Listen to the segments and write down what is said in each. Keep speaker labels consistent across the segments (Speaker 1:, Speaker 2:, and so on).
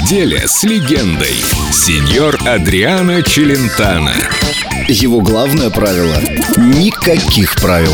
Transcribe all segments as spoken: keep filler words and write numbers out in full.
Speaker 1: Неделя с легендой. Сеньор Адриано Челентано.
Speaker 2: Его главное правило – никаких правил.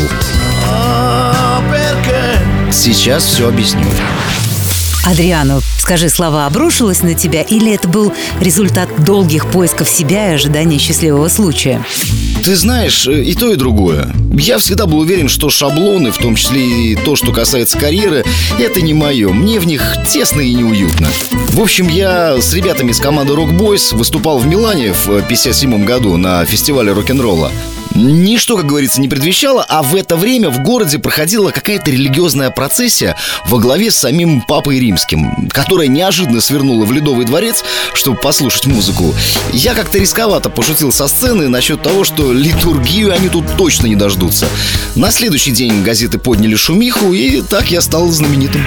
Speaker 2: Сейчас все объясню.
Speaker 3: Адриано, скажи, слава обрушилась на тебя, или это был результат долгих поисков себя и ожидания счастливого случая?
Speaker 2: Ты знаешь, и то, и другое. Я всегда был уверен, что шаблоны, в том числе и то, что касается карьеры, это не мое. Мне в них тесно и неуютно. В общем, я с ребятами из команды Rock Boys выступал в Милане в пятьдесят седьмом году на фестивале рок-н-ролла. Ничто, как говорится, не предвещало, а в это время в городе проходила какая-то религиозная процессия во главе с самим Папой Римским, которая неожиданно свернула в Ледовый дворец, чтобы послушать музыку. Я как-то рисковато пошутил со сцены насчет того, что литургию они тут точно не дождутся. На следующий день газеты подняли шумиху, и так я стал знаменитым.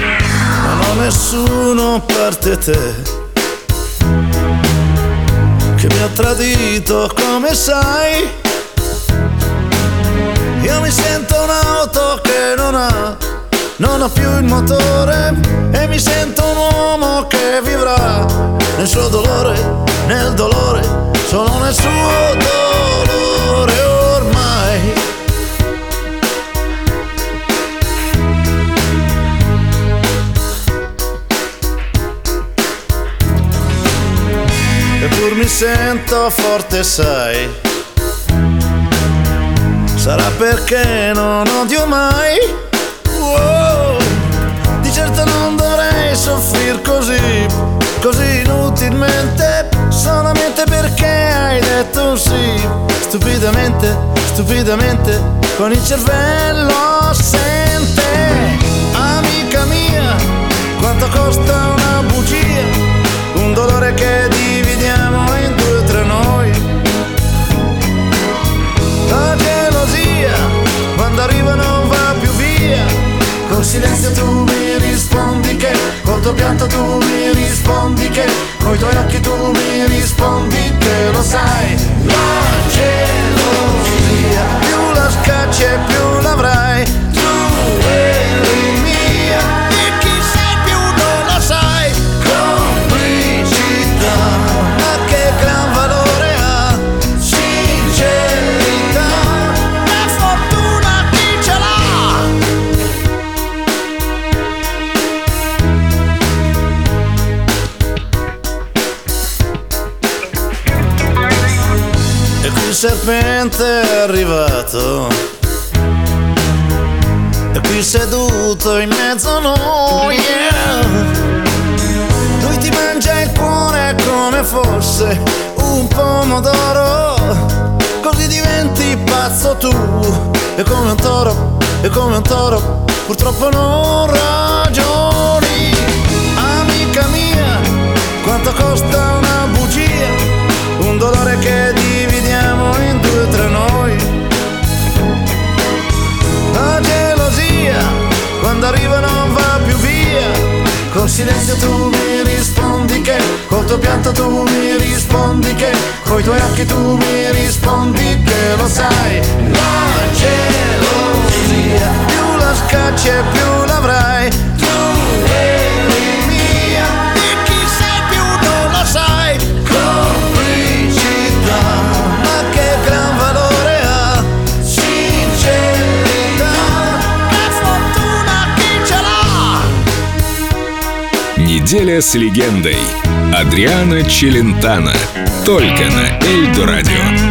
Speaker 4: Io mi sento un'auto che non ha, non ha più il motore, e mi sento un uomo che vivrà nel suo dolore, nel dolore, solo nel suo dolore ormai. Eppur mi sento forte, sai. Sarà perché non odio mai? Wow. Di certo non dovrei soffrir così, così inutilmente, solamente perché hai detto sì. Stupidamente, stupidamente, con il cervello assente. Amica mia, quanto costa una bugia? Un dolore che dividiamo in due tra noi. Quando arriva non va più via. Col silenzio tu mi rispondi che, col tuo pianto tu mi rispondi che, coi tuoi occhi tu mi rispondi che lo sai. La gelosia più la scacci e più l'avrai. Tu eri mia e chi sei più non lo sai. Complicità, ma che gran valore ha. Sincerità, il serpente è arrivato e qui seduto in mezzo a noi, yeah. Lui ti mangia il cuore come fosse un pomodoro, così diventi pazzo tu. E come un toro, e come un toro, purtroppo non ragioni. Amica mia, quanto costa una bugia? Un dolore che dividiamo in due tra noi. La gelosia, quando arriva non va più via. Col silenzio tu mi rispondi che, col tuo pianto tu mi rispondi che, coi tuoi occhi tu mi rispondi che lo sai. La gelosia, più la scacci e più l'avrai. Tu eri mia e chi sei più non lo sai. Ma che gran valore ha. Sincerità, che fortuna chi ce l'ha.
Speaker 1: Неделя с легендой. Адриано Челентано. Только на Эльдо Радио.